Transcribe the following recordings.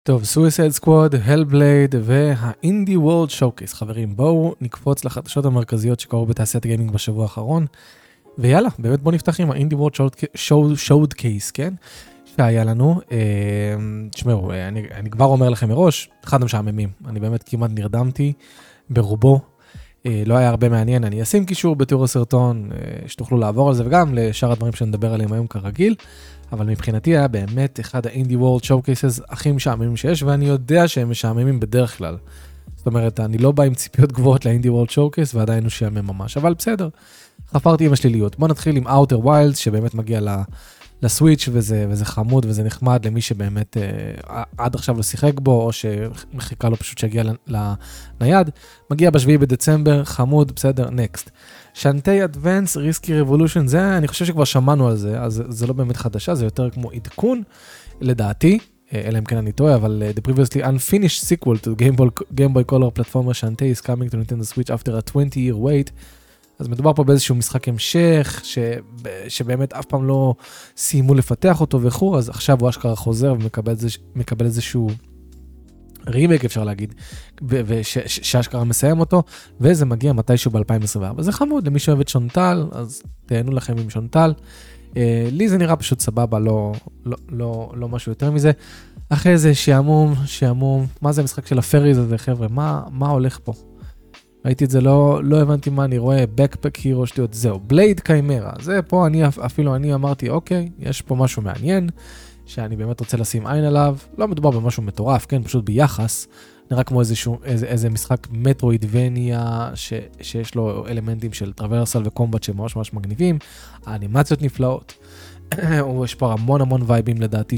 טוב, Suicide Squad, Hellblade והאינדי וורלד שואוקייס. חברים, בואו נקפוץ לחדשות המרכזיות שקרו בתעשיית הגיימינג בשבוע האחרון. ויאללה, באמת בואו נפתח עם האינדי וורלד שואוקייס, כן? שהיה לנו. תשמעו, אני כבר אומר לכם מראש, אחד המשעממים. אני באמת כמעט נרדמתי ברובו. לא היה הרבה מעניין, אני אשים קישור בתיאור הסרטון, שתוכלו לעבור על זה, וגם לשאר הדברים שנדבר עליהם היום כרגיל. אבל מבחינתי היה באמת אחד האינדי וורלד שואוקייסס הכי משעממים שיש, ואני יודע שהם משעממים בדרך כלל. זאת אומרת, אני לא בא עם ציפיות גבוהות לאינדי וורלד שואוקייס, ועדיין הוא שעמם ממש, אבל בסדר. חפרתי עם השליליות. בוא נתחיל עם Outer Wilds, שבאמת מגיע לסוויץ' וזה חמוד וזה נחמד למי שבאמת עד עכשיו לא שיחק בו, או שמחיקה לו פשוט שיגיע לנייד. מגיע ב7 בדצמבר, חמוד, בסדר, נקסט. שנטי אדוונס, ריסקי רבולושן, זה, אני חושב שכבר שמענו על זה, אז זה לא באמת חדשה, זה יותר כמו עדכון, לדעתי, אלא אם כן אני טועה, אבל the previously unfinished sequel to Game Boy Color platformer Shantae is coming to Nintendo Switch after a 20-year wait, אז מדובר פה באיזשהו משחק המשך, שבאמת אף פעם לא סיימו לפתח אותו וכו', אז עכשיו הוא אשכרה חוזר ומקבל איזשהו רימייק אפשר להגיד, ושאשכרה מסיים אותו, וזה מגיע מתישהו ב-2024. זה חמוד, למי שאוהב את שונטל, אז תהנו לכם עם שונטל. לי זה נראה פשוט סבבה, לא משהו יותר מזה. אחרי זה שעמום, מה זה המשחק של הפריז הזה, חבר'ה? מה הולך פה? ראיתי את זה, לא הבנתי מה אני רואה, Backpack Hero שטויות, זהו, בלייד קיימרה. זה פה, אפילו אני אמרתי, אוקיי, יש פה משהו מעניין, שאני באמת רוצה לשים עין עליו, לא מדובר במשהו מטורף, כן, פשוט ביחס, נראה כמו איזה משחק מטרואידבניה, שיש לו אלמנטים של טרוורסל וקומבט שממש ממש מגניבים, האנימציות נפלאות, יש פה המון וייבים לדעתי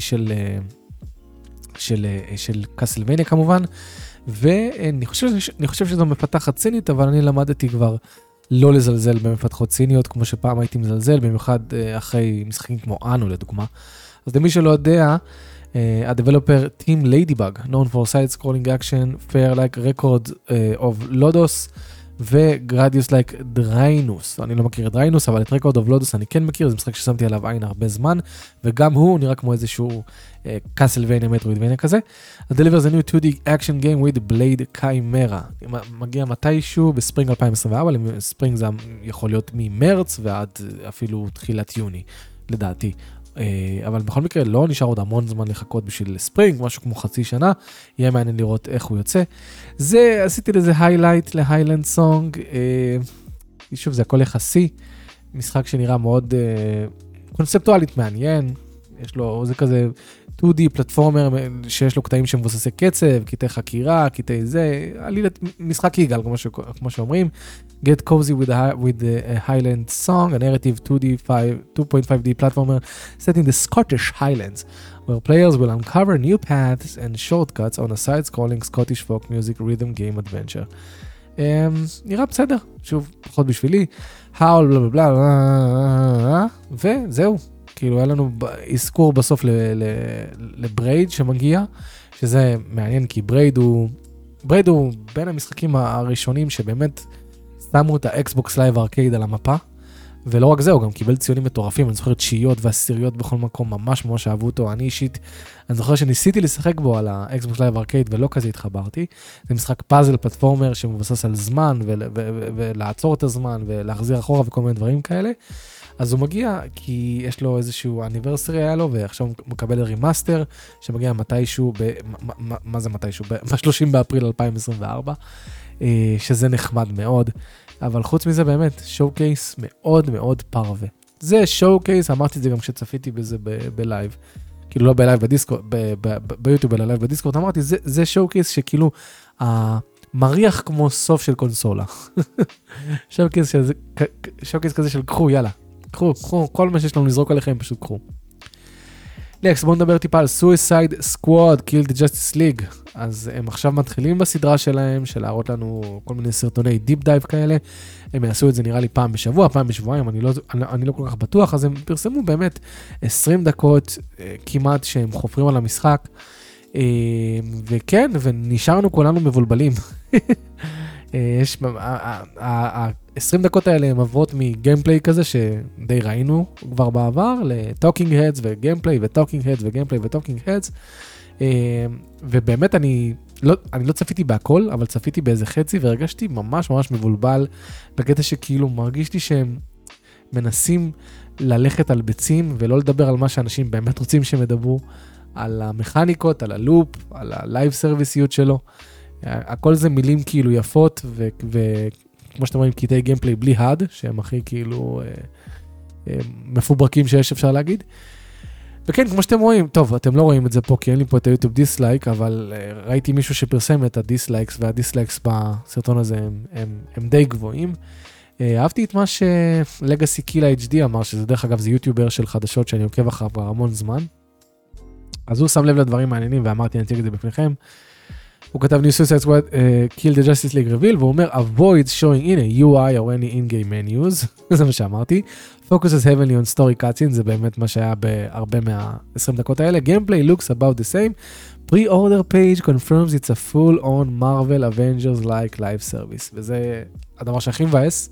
של קאסלווניה כמובן, ואני חושב שזו מפתחת סינית, אבל אני למדתי כבר לא לזלזל במפתחות סיניות, כמו שפעם הייתי מזלזל, במיוחד אחרי משחקים כמו אנו לדוגמה. אז למי שלא יודע, הדבלופר Team Ladybug, known for side-scrolling action, fair like records of Lodos, ו-Gradius like Drainus. אני לא מכיר את Drainus, אבל את Record of Lodos אני כן מכיר, זה משחק ששמתי עליו עין הרבה זמן, וגם הוא נראה כמו איזשהו Castlevania, Metroidvania כזה. It delivers a new 2D action game with Blade Chimera. מגיע מתישהו בספרינג 2024, ספרינג זה יכול להיות ממרץ ועד אפילו תחילת יוני, לדעתי. אבל בכל מקרה לא נשאר עוד המון זמן לחכות בשביל ספרינג, משהו כמו חצי שנה, יהיה מעניין לראות איך הוא יוצא. זה, עשיתי לזה highlight להיילנד סונג, שוב זה הכל יחסי, משחק שנראה מאוד קונספטואלית מעניין, יש לו, זה כזה 2D פלטפורמר שיש לו קטעים שמבוססי קצב, קטעי חקירה, קטעי זה, משחק יגאל כמו שאומרים, Get cozy with the Highland song, a narrative 2.5D platformer set in the Scottish Highlands, where players will uncover new paths and shortcuts on a side-scrolling Scottish folk music rhythm game adventure. נראה בסדר, שוב, פחות בשבילי, האול בלה בלה בלה, וזהו, כאילו היה לנו אזכור בסוף לברייד שמגיע, שזה מעניין כי ברייד הוא בין המשחקים הראשונים שבאמת שמו את האקסבוקס לייב ארקייד על המפה, ולא רק זה, הוא גם קיבל ציונים מטורפים, אני זוכר תשיעיות ועשיריות בכל מקום, ממש ממש אהבו אותו, אני אישית, אני זוכר שניסיתי לשחק בו על האקסבוקס לייב ארקייד ולא כזה התחברתי, זה משחק פאזל פלטפורמר שמבוסס על זמן ולעצור את הזמן ולהחזיר אחורה וכל מיני דברים כאלה, אז הוא מגיע כי יש לו איזשהו אניברסרי היה לו, ועכשיו הוא מקבל רימאסטר שמגיע מתישהו, מה זה מתישהו? ב-30 באפריל 2024, שזה נחמד מאוד, אבל חוץ מזה באמת, שואו-קייס מאוד מאוד פרווה. זה שואו-קייס, אמרתי את זה גם כשצפיתי בזה בלייב, כאילו לא בלייב בדיסקורד, ביוטיוב אלא לייב בדיסקורד, אמרתי, זה שואו-קייס שכאילו, מריח כמו סוף של קונסולה. שואו-קייס כזה של קחו, יאללה. קחו, כל מה שיש לנו לזרוק עליכם, פשוט קחו. נקסט, בואו נדבר טיפה על Suicide Squad, Kill the Justice League. אז הם עכשיו מתחילים בסדרה שלהם, של להראות לנו כל מיני סרטוני דיפ דייב כאלה. הם יעשו את זה נראה לי פעם בשבוע, פעם בשבועיים, אני לא כל כך בטוח, אז הם פרסמו באמת 20 דקות כמעט שהם חופרים על המשחק. וכן, ונשארנו כולנו מבולבלים. יש, ה-20 דקות האלה הם עברות מגיימפליי כזה שדי ראינו כבר בעבר, לטוקינג הדס וגיימפליי וטוקינג הדס וגיימפליי וטוקינג הדס. ובאמת אני לא צפיתי בהכל, אבל צפיתי באיזה חצי, והרגשתי ממש ממש מבולבל, בקטע שכאילו מרגיש לי שהם מנסים ללכת על ביצים, ולא לדבר על מה שאנשים באמת רוצים שהם ידברו, על המכניקות, על הלופ, על הלייב סרוויסיות שלו. הכל זה מילים כאילו יפות, וכמו שאתם רואים, קטעי גיימפליי בלי הד, שהם הכי כאילו מפוברקים שיש אפשר להגיד. וכן, כמו שאתם רואים, טוב, אתם לא רואים את זה פה, כי אין לי פה את היוטיוב דיסלייק, אבל ראיתי מישהו שפרסם את הדיסלייקס, והדיסלייקס בסרטון הזה הם די גבוהים. אהבתי את מה שלגאסי קילה HD אמר, שזה דרך אגב זה יוטיובר של חדשות שאני עוקב אחריו כבר המון זמן. אז הוא שם לב לדברים מעניינים, ואמרתי, אני אציג את זה בפניכם. הוא כתב New Suicide Squad Kill the Justice League Reveal, והוא אומר, avoid showing in a UI or any in-game menus, זה מה שאמרתי. Focuses heavily on story cutscenes, זה באמת מה שהיה בהרבה מה-20 דקות האלה. Gameplay looks about the same. Pre-order page confirms it's a full-on Marvel Avengers-like live service, וזה הדבר שהכי מבאס.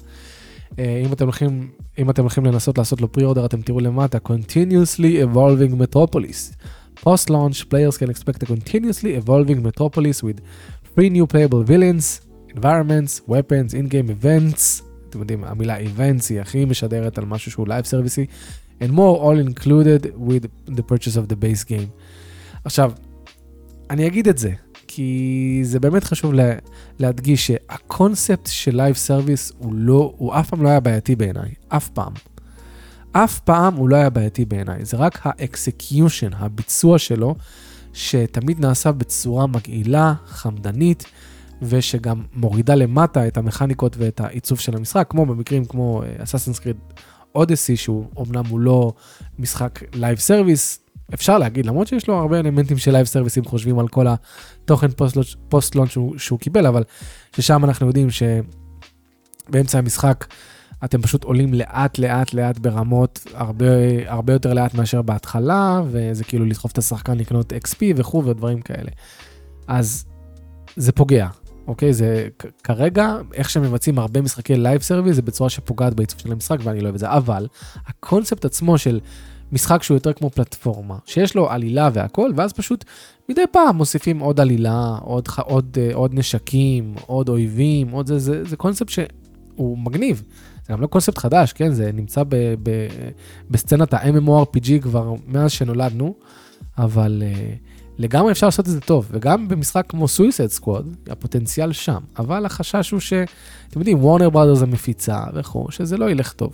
אם אתם הולכים לנסות לעשות לו pre-order, אתם תראו למטה, Continuously Evolving Metropolis. Post-launch, players can expect a continuously evolving Metropolis with 3 new playable villains, environments, weapons, in-game events. אתם יודעים, המילה events היא הכי משדרת על משהו שהוא live service, and more all included with the purchase of the base game. עכשיו, אני אגיד את זה, כי זה באמת חשוב להדגיש שהקונספט של live service הוא אף פעם לא היה בעייתי בעיניי, אף פעם. אף פעם הוא לא היה בעייתי בעיניי, זה רק האקסקיושן, הביצוע שלו, שתמיד נעשה בצורה מגעילה, חמדנית, ושגם מורידה למטה את המכניקות ואת העיצוב של המשחק, כמו במקרים כמו Assassin's Creed Odyssey, שהוא אומנם הוא לא משחק לייב סרוויס, אפשר להגיד, למרות שיש לו הרבה אלמנטים של לייב סרוויסים, חושבים על כל התוכן פוסט-לונץ' שהוא קיבל, אבל ששם אנחנו יודעים שבאמצע המשחק, אתם פשוט עולים לאט לאט לאט ברמות, הרבה יותר לאט מאשר בהתחלה, וזה כאילו לדחוף את השחקן לקנות XP וכו' ודברים כאלה. אז זה פוגע, אוקיי? זה כרגע, איך שמבצעים הרבה משחקי לייב סרוויס, זה בצורה שפוגעת בעיצוב של המשחק, ואני לא אוהב את זה. אבל הקונספט עצמו של משחק שהוא יותר כמו פלטפורמה, שיש לו עלילה והכל, ואז פשוט מדי פעם מוסיפים עוד עלילה, עוד נשקים, עוד אויבים, זה קונספט שהוא מגניב. זה גם לא קונספט חדש, כן? זה נמצא בסצנת ה-MMORPG כבר מאז שנולדנו, אבל לגמרי אפשר לעשות את זה טוב, וגם במשחק כמו Suicide Squad, הפוטנציאל שם, אבל החשש הוא אתם יודעים, וורנר ברודרס המפיצה וכו', שזה לא ילך טוב.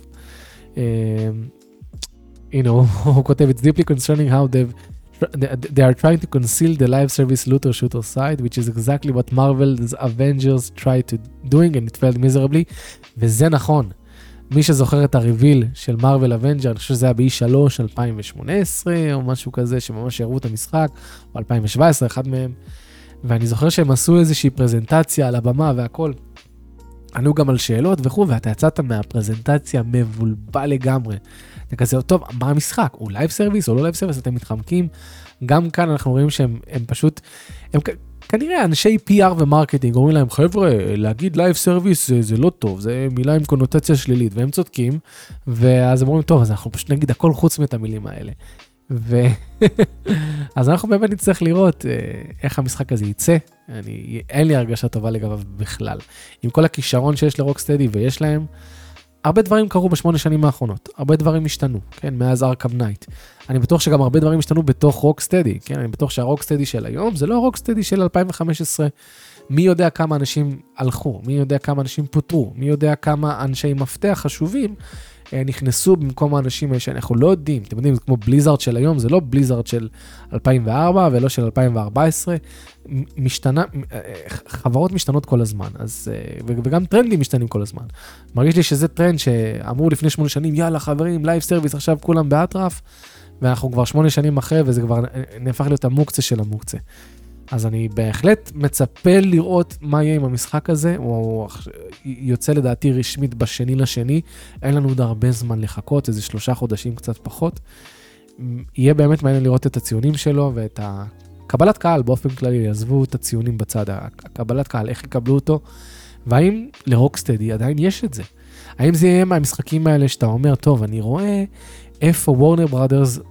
הנה, הוא כותב, It's deeply concerning how they are trying to conceal the live service looter shooter side, which is exactly what Marvel's Avengers tried to doing and it failed miserably, וזה נכון. מי שזוכר את הריביל של מרוול אבנג'ר, אני חושב שזה היה ב-E3 2018 או משהו כזה, שממש הראו את המשחק, או 2017, אחד מהם, ואני זוכר שהם עשו איזושהי פרזנטציה על הבמה והכל, ענו גם על שאלות וכו', ואתה יצאת מהפרזנטציה מבולבל לגמרי. אתה כזה, טוב, מה המשחק? הוא לייב סרוויס או לא לייב סרוויס? אתם מתחמקים. גם כאן אנחנו רואים שהם פשוט, הם כנראה אנשי PR ומרקטינג, אומרים להם, חבר'ה, להגיד לייב סרוויס זה לא טוב, זה מילה עם קונוטציה שלילית, והם צודקים, ואז הם אומרים, טוב, אז אנחנו פשוט נגיד הכל חוץ מאת המילים האלה. אז אנחנו באמת נצטרך לראות איך המשחק הזה יצא, אין לי הרגשה טובה לגביו בכלל. עם כל הכישרון שיש לרוקסטדי ויש להם, הרבה דברים קרו ב8 שנים האחרונות, הרבה דברים השתנו, כן, מאז ארכם נייט. אני בטוח שגם הרבה דברים השתנו בתוך רוקסטדי, כן, אני בטוח שהרוקסטדי של היום זה לא הרוקסטדי של 2015. מי יודע כמה אנשים הלכו, מי יודע כמה אנשים פוטרו, מי יודע כמה אנשי מפתח חשובים נכנסו במקום האנשים שאנחנו לא יודעים. אתם יודעים, זה כמו בליזארד של היום, זה לא בליזארד של 2004 ולא של 2014. חברות משתנות כל הזמן, וגם טרנדים משתנים כל הזמן. מרגיש לי שזה טרנד שאמרו לפני 8 שנים, יאללה חברים, לייב סרוויס, עכשיו כולם באטרף, ואנחנו כבר 8 שנים אחרי, וזה כבר נהפך להיות המוקצה של המוקצה. אז אני בהחלט מצפה לראות מה יהיה עם המשחק הזה, הוא יוצא לדעתי רשמית ב2/2, אין לנו עוד הרבה זמן לחכות, איזה 3 חודשים קצת פחות. יהיה באמת מעניין לראות את הציונים שלו, ואת הקבלת קהל באופן כללי, יעזבו את הציונים בצד, הקבלת קהל, איך יקבלו אותו, והאם לרוקסטדי עדיין יש את זה? האם זה יהיה מהמשחקים האלה שאתה אומר, טוב, אני רואה איפה וורנר ברודרס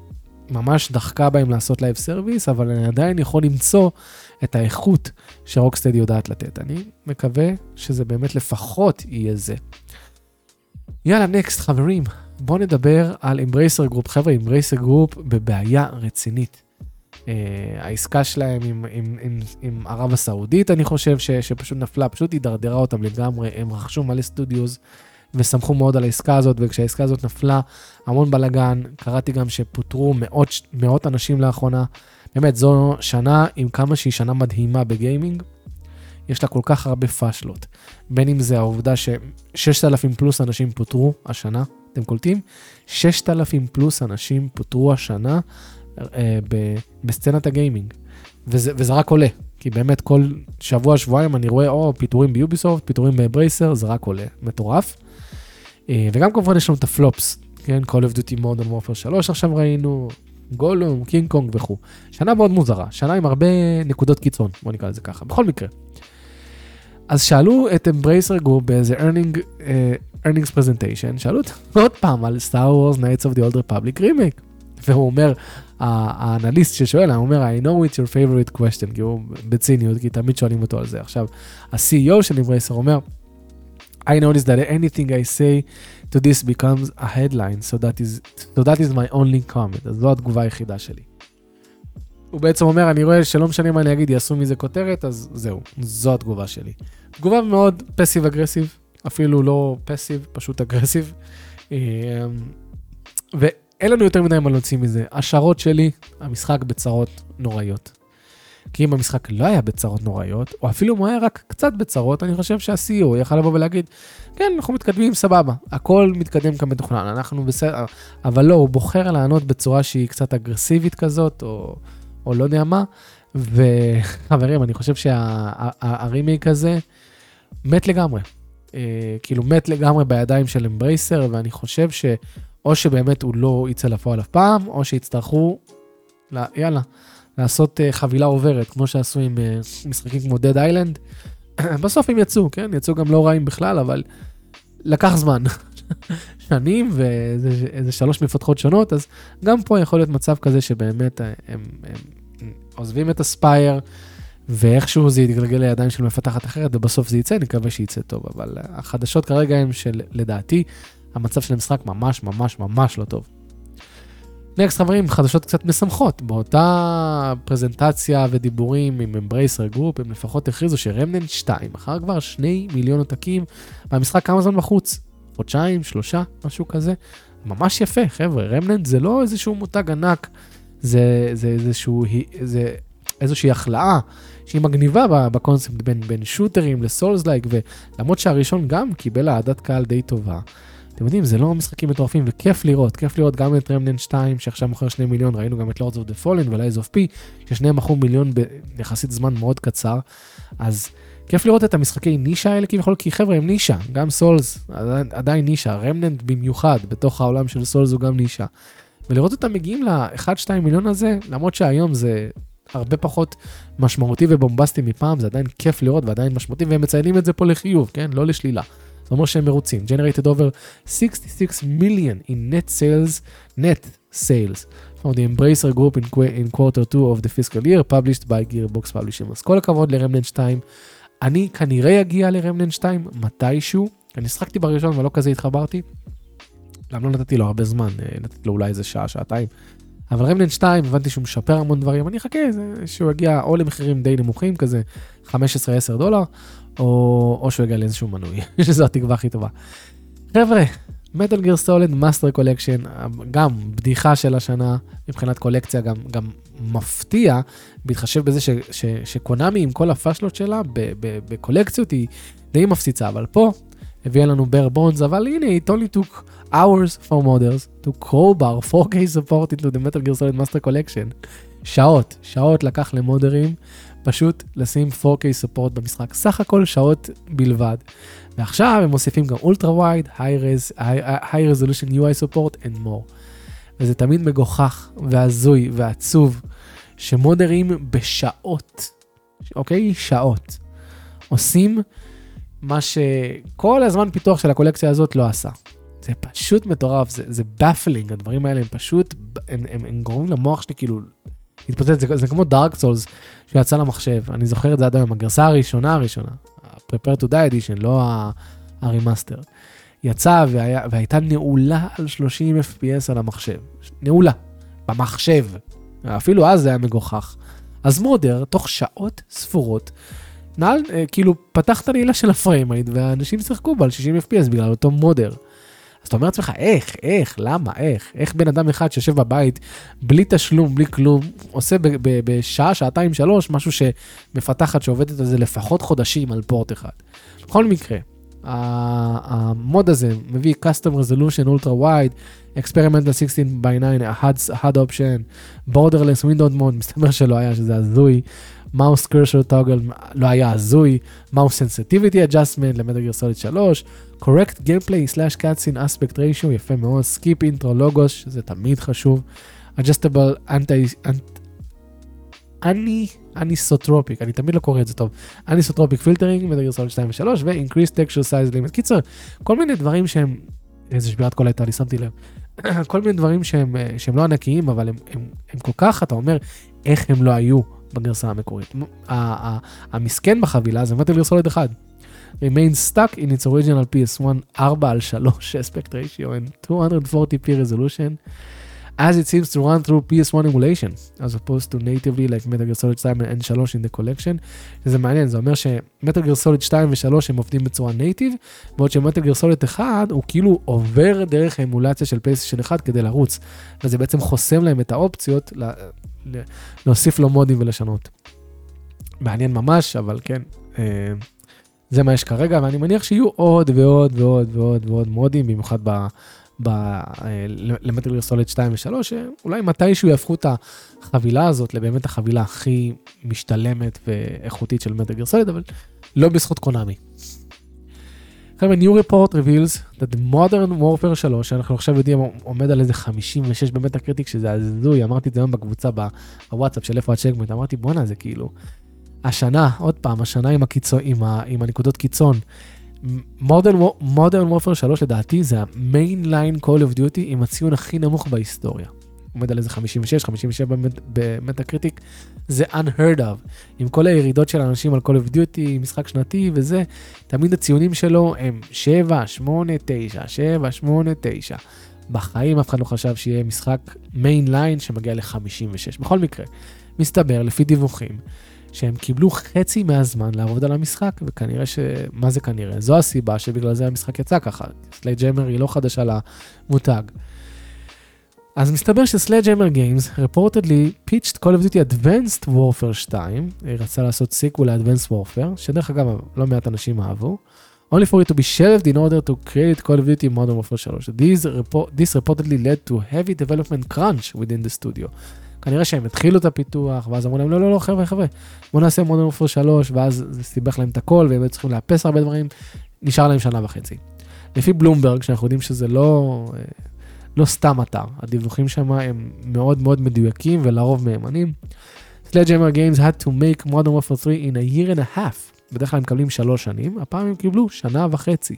ממש דחקה בהם לעשות לייב סרוויס, אבל אני עדיין יכול למצוא את האיכות שרוקסטדי יודעת לתת. אני מקווה שזה באמת לפחות יהיה זה. יאללה, נקסט, חברים. בואו נדבר על Embracer Group. חבר'ה, Embracer Group בבעיה רצינית. העסקה שלהם עם ערב הסעודית, אני חושב שפשוט נפלה, פשוט הידרדרה אותם לגמרי. הם רכשו מלא סטודיוז וסמכו מאוד על העסקה הזאת, וכשהעסקה הזאת נפלה, המון בלגן. קראתי גם שפוטרו מאות אנשים לאחרונה. באמת, זו שנה עם כמה שהיא שנה מדהימה בגיימינג. יש לה כל כך הרבה פשלות. בין אם זה העובדה ש6,000 פלוס אנשים פוטרו השנה, אתם קולטים? 6,000 פלוס אנשים פוטרו השנה בסצנת הגיימינג. וזה רק עולה, כי באמת כל שבוע-שבועיים אני רואה, פיטורים ביוביסופט, פיטורים באברייסר, זה רק עולה, מטורף. וגם כמובן יש לנו את הפלופס, כן? Call of Duty Modern Warfare 3 עכשיו ראינו, גולום, קינג קונג וכו'. שנה מאוד מוזרה, שנה עם הרבה נקודות קיצון, בוא נקרא לזה ככה, בכל מקרה. אז שאלו את Embracer Group באיזה earnings presentation, שאלו עוד פעם על Star Wars Knights of the Old Republic remake. והוא אומר, האנליסט ששואל, הוא אומר, I know it's your favorite question, כי הוא בציניות, כי תמיד שואלים אותו על זה. עכשיו, ה-CEO של Embracer אומר, I noticed that anything I say to this becomes a headline, so that is my only comment. אז זו התגובה היחידה שלי. הוא בעצם אומר, אני רואה שלא משנה מה אני אגיד, יעשו מזה כותרת, אז זהו, זו התגובה שלי. תגובה מאוד פסיב-אגרסיב, אפילו לא פסיב, פשוט אגרסיב. ואין לנו יותר מדי מה להוציא מזה. השערות שלי, המשחק בצרות נוראיות. כי אם המשחק לא היה בצרות נוראיות, או אפילו אם הוא היה רק קצת בצרות, אני חושב שה-CEO יכל לבוא ולהגיד, כן, אנחנו מתקדמים סבבה, הכל מתקדם כאן מתוכנן, אנחנו בסדר, אבל לא, הוא בוחר לענות בצורה שהיא קצת אגרסיבית כזאת, או לא יודע מה, וחברים, אני חושב שהרימייק הזה מת לגמרי. כאילו מת לגמרי בידיים של אמברייסר, ואני חושב או שבאמת הוא לא יצא לפועל אף פעם, או שיצטרכו, יאללה, לעשות חבילה עוברת, כמו שעשו עם משחקים כמו Dead Island. בסוף הם יצאו, כן? יצאו גם לא רעים בכלל, אבל לקח זמן. שנים ואיזה 3 מפתחות שונות, אז גם פה יכול להיות מצב כזה שבאמת הם עוזבים את הספייר, ואיכשהו זה יתגלגל לידיים של מפתחת אחרת, ובסוף זה יצא, נקווה שיצא טוב. אבל החדשות כרגע הם שלדעתי, המצב של המשחק ממש ממש ממש לא טוב. נקסט חברים, חדשות קצת משמחות. באותה פרזנטציה ודיבורים עם Embracer Group, הם לפחות הכריזו שרמננט 2, אחר כבר 2 מיליון עותקים, והמשחק כמה זמן בחוץ? חודשיים, 3, משהו כזה. ממש יפה, חבר'ה. רמננט זה לא איזשהו מותג ענק, זה איזושהי החלאה שהיא מגניבה בקונספט בין שוטרים לסולס-לייק, ולמרות שהראשון גם קיבל העדת קהל די טובה. אתם יודעים, זה לא משחקים מטורפים, וכיף לראות גם את רמננט 2, שעכשיו מוכר 2 מיליון, ראינו גם את Lords of the Fallen ו-Lies of P, ששניהם מכרו מיליון ביחסית זמן מאוד קצר, אז כיף לראות את המשחקי נישה האלה כביכול, כי חבר'ה הם נישה, גם סולס עדיין נישה, רמננט במיוחד, בתוך העולם של סולס הוא גם נישה, ולראות אותם מגיעים ל-1-2 מיליון הזה, למרות שהיום זה הרבה פחות משמעותי ובומבסטי מפעם, זה עדיין כיף לראות ועדיין משמעותי, והם מציינים את זה פה לחיוב, כן? לא לשלילה. זאת אומרת שהם מרוצים. Generated over 66 million in net sales from the Embracer Group in quarter 2 of the fiscal year, published by Gearbox Publishing. אז כל הכבוד לרמננט 2. אני כנראה אגיע לרמננט 2 מתישהו. אני שחקתי בראשון ולא כזה התחברתי. למה לא נתתי לו הרבה זמן? נתתי לו אולי איזה שעה, שעתיים. אבל רמננט 2, הבנתי שהוא משפר המון דברים. אני אחכה שהוא יגיע או למחירים די נמוכים, כזה $15-10, או שהוא יגיע לאיזשהו מנוי, שזו התקווה הכי טובה. חבר'ה, Metal Gear Solid Master Collection, גם בדיחה של השנה, מבחינת קולקציה, גם מפתיע, בהתחשב בזה שקונאמי עם כל הפשלות שלה, בקולקציות היא די מפציצה, אבל פה הביאה לנו bare bones, אבל הנה, it only took hours for modders to crowbar 4K support into the Metal Gear Solid Master Collection. שעות לקח למודרים, פשוט לשים 4K support במשחק, סך הכל שעות בלבד. ועכשיו הם מוסיפים גם Ultra Wide, High Resolution UI Support and more. וזה תמיד מגוחך והזוי ועצוב, שמודרים בשעות, אוקיי? שעות. עושים מה שכל הזמן פיתוח של הקולקציה הזאת לא עשה. זה פשוט מטורף, זה baffling, הדברים האלה הם פשוט, הם גורמים למוח שלי כאילו, להתפוצץ, זה כמו דארק סולס, שיצא למחשב, אני זוכר את זה עד היום, הגרסה הראשונה, Prepare to Die Edition, לא הרימאסטר, יצא והייתה נעולה על 30 FPS על המחשב, נעולה, במחשב, אפילו אז זה היה מגוחך, אז מודר, תוך שעות ספורות, כאילו פתח את הנעילה של הפריימייט, והאנשים שיחקו בה על 60 FPS בגלל אותו מודר. אז אתה אומר לעצמך, למה, איך בן אדם אחד שיושב בבית, בלי תשלום, בלי כלום, עושה בשעה, שעתיים, 3, משהו שמפתחת שעובדת על זה לפחות חודשים על פורט אחד. בכל מקרה, המוד הזה מביא Custom Resolution Ultra Wide, Experimental 16:9, HUD Option, Borderless Window Mode, מסתבר שלא היה שזה הזוי, Mouse Cursor Toggle לא היה הזוי, Mouse Sensitivity Adjustment למטל גיר סוליד 3, Correct Gameplay / Cutscene Aspect Ratio, יפה מאוד, Skip Intro Logos, שזה תמיד חשוב, Adjustable Anisotropic, אני תמיד לא קורא את זה טוב, Anisotropic Filtering, מטל גיר סוליד 2 ו-3, ו-Increased Texture Size Limit. קיצר, כל מיני דברים שהם, איזה שבירת כל הייתה, אני שמתי לב, כל מיני דברים שהם לא ענקיים, אבל הם כל כך, אתה אומר, איך הם לא היו בגרסה המקורית. המסכן בחבילה זה מטל גיר סוליד 1. Remains stuck in its original PS1 4:3 aspect ratio and 240p resolution as it seems to run through PS1 emulation as opposed to natively like Metal Gear Solid 2 and 3 in the collection. זה מעניין, זה אומר שמטל גיר סוליד 2 ו-3 הם עובדים בצורה נייטיב, בעוד שמטל גיר סוליד 1 הוא כאילו עובר דרך האמולציה של PlayStation 1 כדי לרוץ, וזה בעצם חוסם להם את האופציות להוסיף לו מודים ולשנות. מעניין ממש, אבל כן, זה מה יש כרגע, ואני מניח שיהיו עוד ועוד ועוד ועוד ועוד מודים, במיוחד למטל גיר סוליד 2 ו-3, שאולי מתישהו יהפכו את החבילה הזאת לבאמת החבילה הכי משתלמת ואיכותית של מטל גיר סוליד, אבל לא בזכות קונאמי. עכשיו, New Report reveals that Modern Warfare 3, שאנחנו עכשיו יודעים, עומד על איזה 56 במטה קריטיק, שזה הזוי, אמרתי את זה היום בקבוצה בוואטסאפ של איפה הצ'קמנט, אמרתי בואנה, זה כאילו, השנה, עוד פעם, השנה עם הנקודות קיצון, Modern Warfare 3 לדעתי זה ה-Mainline Call of Duty עם הציון הכי נמוך בהיסטוריה. עומד על איזה 56, 57 במטה קריטיק, זה unheard of. עם כל הירידות של האנשים על Call of Duty, משחק שנתי וזה, תמיד הציונים שלו הם 7, 8, 9, 7, 8, 9. בחיים אף אחד לא חשב שיהיה משחק Mainline שמגיע ל-56. בכל מקרה, מסתבר לפי דיווחים, שהם קיבלו חצי מהזמן לעבוד על המשחק, וכנראה מה זה כנראה? זו הסיבה שבגלל זה המשחק יצא ככה. Sledgehammer היא לא חדשה למותג. אז מסתבר ש-Sledgehammer Games reportedly pitched Call of Duty Advanced Warfare 2, היא רצה לעשות סיקוול ל-Advanced Warfare, שדרך אגב לא מעט אנשים אהבו, only for it to be shelved in order to create Call of Duty Modern Warfare 3. This reportedly led to heavy development crunch within the studio. כנראה שהם התחילו את הפיתוח, ואז אמרו להם, לא, חבר'ה, בואו נעשה Modern Warfare 3, ואז זה סיבך להם את הכל, והם צריכים לאפס הרבה דברים, נשאר להם 1.5 שנה. לפי בלומברג, שאנחנו יודעים שזה לא סתם אתר, הדיווחים שם הם מאוד מאוד מדויקים, ולרוב מהימנים. Sledgehammer Games had to make Modern Warfare 3 in a year and a half. בדרך כלל הם מקבלים 3 שנים, הפעם הם קיבלו 1.5 שנה.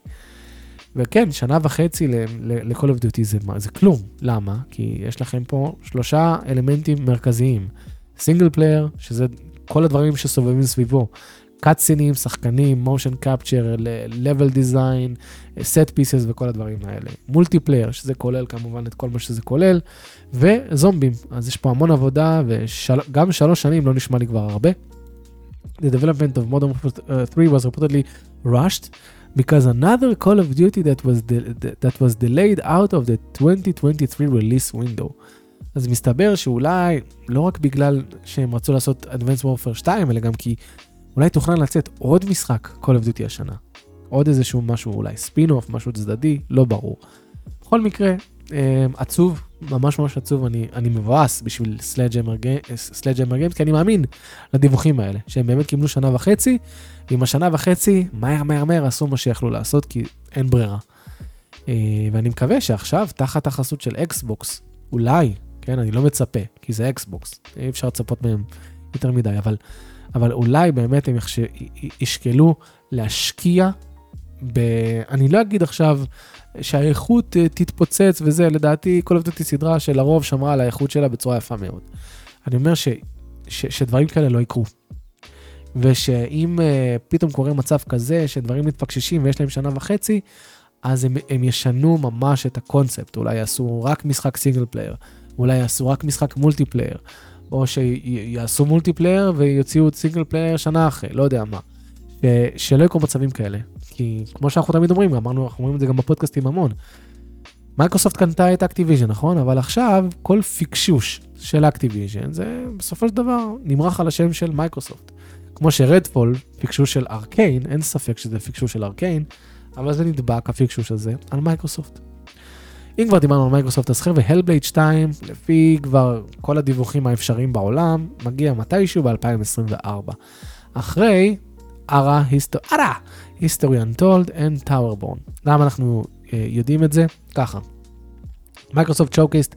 וכן, 1.5 שנה ל-Call of Duty זה כלום. למה? כי יש לכם פה 3 אלמנטים מרכזיים. סינגל פלייר, שזה כל הדברים שסובבים סביבו. קאטסינים, שחקנים, motion capture, level design, set pieces וכל הדברים האלה. מולטיפלייר, שזה כולל כמובן את כל מה שזה כולל, וזומבים. אז יש פה המון עבודה, וגם 3 שנים לא נשמע לי כבר הרבה. The development of Modern Warfare 3 was reportedly rushed, because another Call of Duty that was delayed out of the 2023 release window. אז מסתבר שאולי, לא רק בגלל שהם רצו לעשות Advanced Warfare 2, אלא גם כי אולי תוכנן לצאת עוד משחק Call of Duty השנה. עוד איזשהו משהו, אולי ספין-אוף, משהו צדדי, לא ברור. בכל מקרה, עצוב, ממש ממש עצוב, אני מבואס בשביל Sledgehammer Games, כי אני מאמין לדיווחים האלה, שהם באמת קיבלו 1.5 שנה, ועם 1.5 שנה, מהר, עשו מה שיכלו לעשות, כי אין ברירה. ואני מקווה שעכשיו, תחת החסות של אקסבוקס, אולי, כן, אני לא מצפה, כי זה אקסבוקס, אי אפשר לצפות מהם יותר מדי, אבל אולי באמת הם ישקלו להשקיע אני לא אגיד עכשיו שהאיכות תתפוצץ וזה, לדעתי כל אותי סדרה שלרוב שמרה על האיכות שלה בצורה יפה מאוד. אני אומר שדברים כאלה לא יקרו. ושאם פתאום קורה מצב כזה שדברים מתפקששים ויש להם שנה וחצי, אז הם ישנו ממש את הקונספט. אולי יעשו רק משחק סינגל פלייר, אולי יעשו רק משחק מולטיפלייר, או שיעשו מולטיפלייר ויוציאו סינגל פלייר שנה אחרי, לא יודע מה. שלא יקרו מצבים כאלה. כי כמו שאנחנו תמיד אומרים, אנחנו אומרים את זה גם בפודקאסטים המון. מייקרוסופט קנתה את אקטיביז'ן, נכון? אבל עכשיו כל פיקשוש של אקטיביז'ן, זה בסופו של דבר נמרח על השם של מייקרוסופט. כמו שרדפול, פיקשוש של ארקיין, אין ספק שזה פיקשוש של ארקיין, אבל זה נדבק, הפיקשוש הזה, על מייקרוסופט. אם כבר דיברנו על מייקרוסופט, אז חבר'ה, הלבלייד 2, לפי כבר כל הדיווחים האפשריים בעולם, מגיע מתישהו ב-2024. אחרי History Untold and Towerborn. למה אנחנו יודעים את זה? ככה. מייקרוסופט שואוקייסט,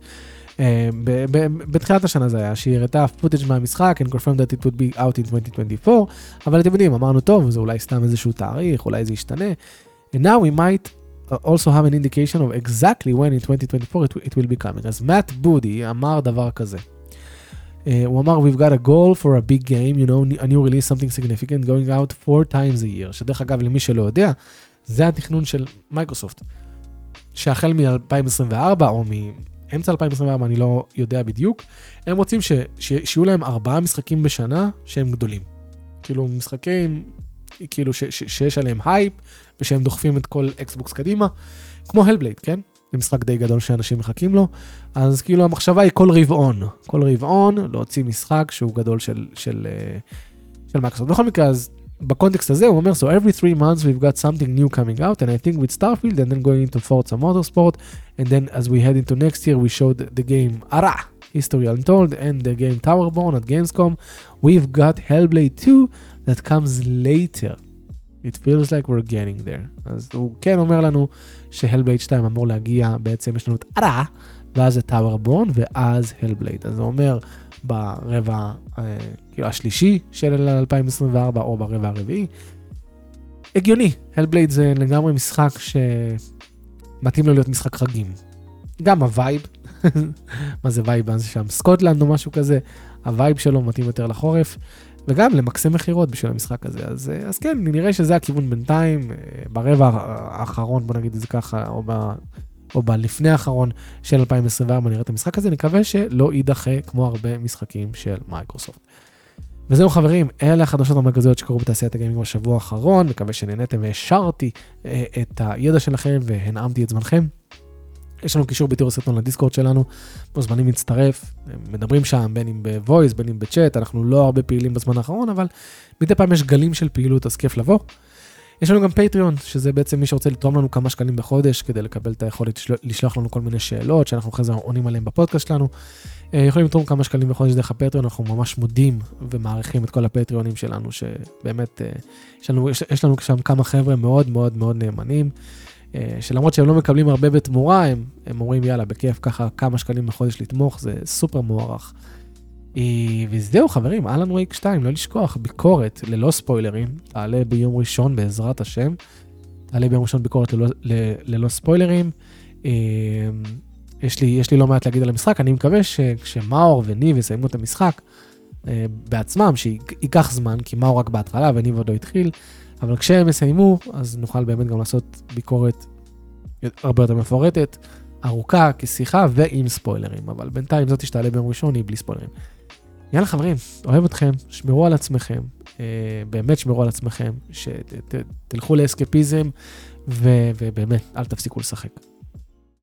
בתחילת השנה זה היה, שהיא הראתה פוטאג' מהמשחק, and confirmed that it would be out in 2024, אבל אתם יודעים, אמרנו טוב, זה אולי סתם איזשהו תאריך, אולי זה ישתנה. And now we might also have an indication of exactly when in 2024 it will be coming. אז מאט בודי אמר דבר כזה. הוא אמר, we've got a goal for a big game, you know, a new release, something significant, going out 4 times a year. שדרך אגב, למי שלא יודע, זה התכנון של מייקרוסופט. שהחל מ-2024, או מאמצע 2024, אני לא יודע בדיוק, הם רוצים שיהיו להם 4 משחקים בשנה שהם גדולים. כאילו, משחקים, כאילו, שיש עליהם הייפ, ושהם דוחפים את כל אקסבוקס קדימה, כמו הלבלייד, כן? זה משחק די גדול שאנשים מחכים לו, אז כאילו המחשבה היא כל רבעון להוציא משחק שהוא גדול של מייקרוסופט. בכל מקרה, אז בקונטקסט הזה הוא אומר, so every 3 months we've got something new coming out, and I think with Starfield, and then going into Forza Motorsport, and then as we head into next year, we showed the game History Untold, and the game Towerborn at Gamescom. We've got Hellblade 2 that comes later. It feels like we're getting there. אז הוא כן אומר לנו שהלבלייד 2 אמור להגיע, בעצם יש לנו את ואז את טאוורבורן, ואז הלבלייד. אז הוא אומר ברבע השלישי של 2024, או ברבע הרביעי. הגיוני, הלבלייד זה לגמרי משחק שמתאים לו להיות משחק חגים. גם הווייב, מה זה וייב? זה שם סקוטלנד או משהו כזה, הווייב שלו מתאים יותר לחורף. וגם למקסם מחירות בשביל המשחק הזה. אז כן, נראה שזה הכיוון בינתיים, ברבע האחרון, בוא נגיד את זה ככה, או בלפני האחרון של 2024, נראה את המשחק הזה, נקווה שלא יידחה כמו הרבה משחקים של מייקרוסופט. וזהו חברים, אלה החדשות המרכזיות שקרו בתעשיית הגיימינג בשבוע האחרון, מקווה שנהנתם והשארתי את הידע שלכם והנעמתי את זמנכם. יש לנו קישור בתיאור הסרטון לדיסקורד שלנו, מוזמנים להצטרף, מדברים שם בין אם בוויס, בין אם בצ'אט, אנחנו לא הרבה פעילים בזמן האחרון, אבל מדי פעם יש גלים של פעילות, אז כיף לבוא. יש לנו גם פטריון, שזה בעצם מי שרוצה לתרום לנו כמה שקלים בחודש, כדי לקבל את היכולת לשלוח לנו כל מיני שאלות, שאנחנו אחרי זה עונים עליהם בפודקאסט שלנו. יכולים לתרום כמה שקלים בחודש דרך הפטריון, אנחנו ממש מודים ומעריכים את כל הפטריונים שלנו, שבאמת יש לנו שם כמה חבר'ה מאוד מאוד מאוד נאמנים, שלמרות שהם לא מקבלים הרבה בתמורה, הם אומרים יאללה, בכיף ככה כמה שקלים בחודש לתמוך, זה סופר מוערך. וזהו חברים, אלן וייק 2, לא לשכוח, ביקורת ללא ספוילרים, תעלה ביום ראשון בעזרת השם, תעלה ביום ראשון ביקורת ללא ספוילרים, יש לי לא מעט להגיד על המשחק, אני מקווה שכשמאור וניב יסיימו את המשחק בעצמם, שייקח זמן, כי מאור רק בהתחלה וניב עוד לא התחיל, אבל כשהם יסיימו, אז נוכל באמת גם לעשות ביקורת הרבה יותר מפורטת, ארוכה, כשיחה ועם ספוילרים, אבל בינתיים זאת תשתעלה ביום ראשון, היא בלי ספוילרים. יאללה חברים, אוהב אתכם, שמרו על עצמכם, באמת שמרו על עצמכם, שתלכו לאסקפיזם, ובאמת, אל תפסיקו לשחק.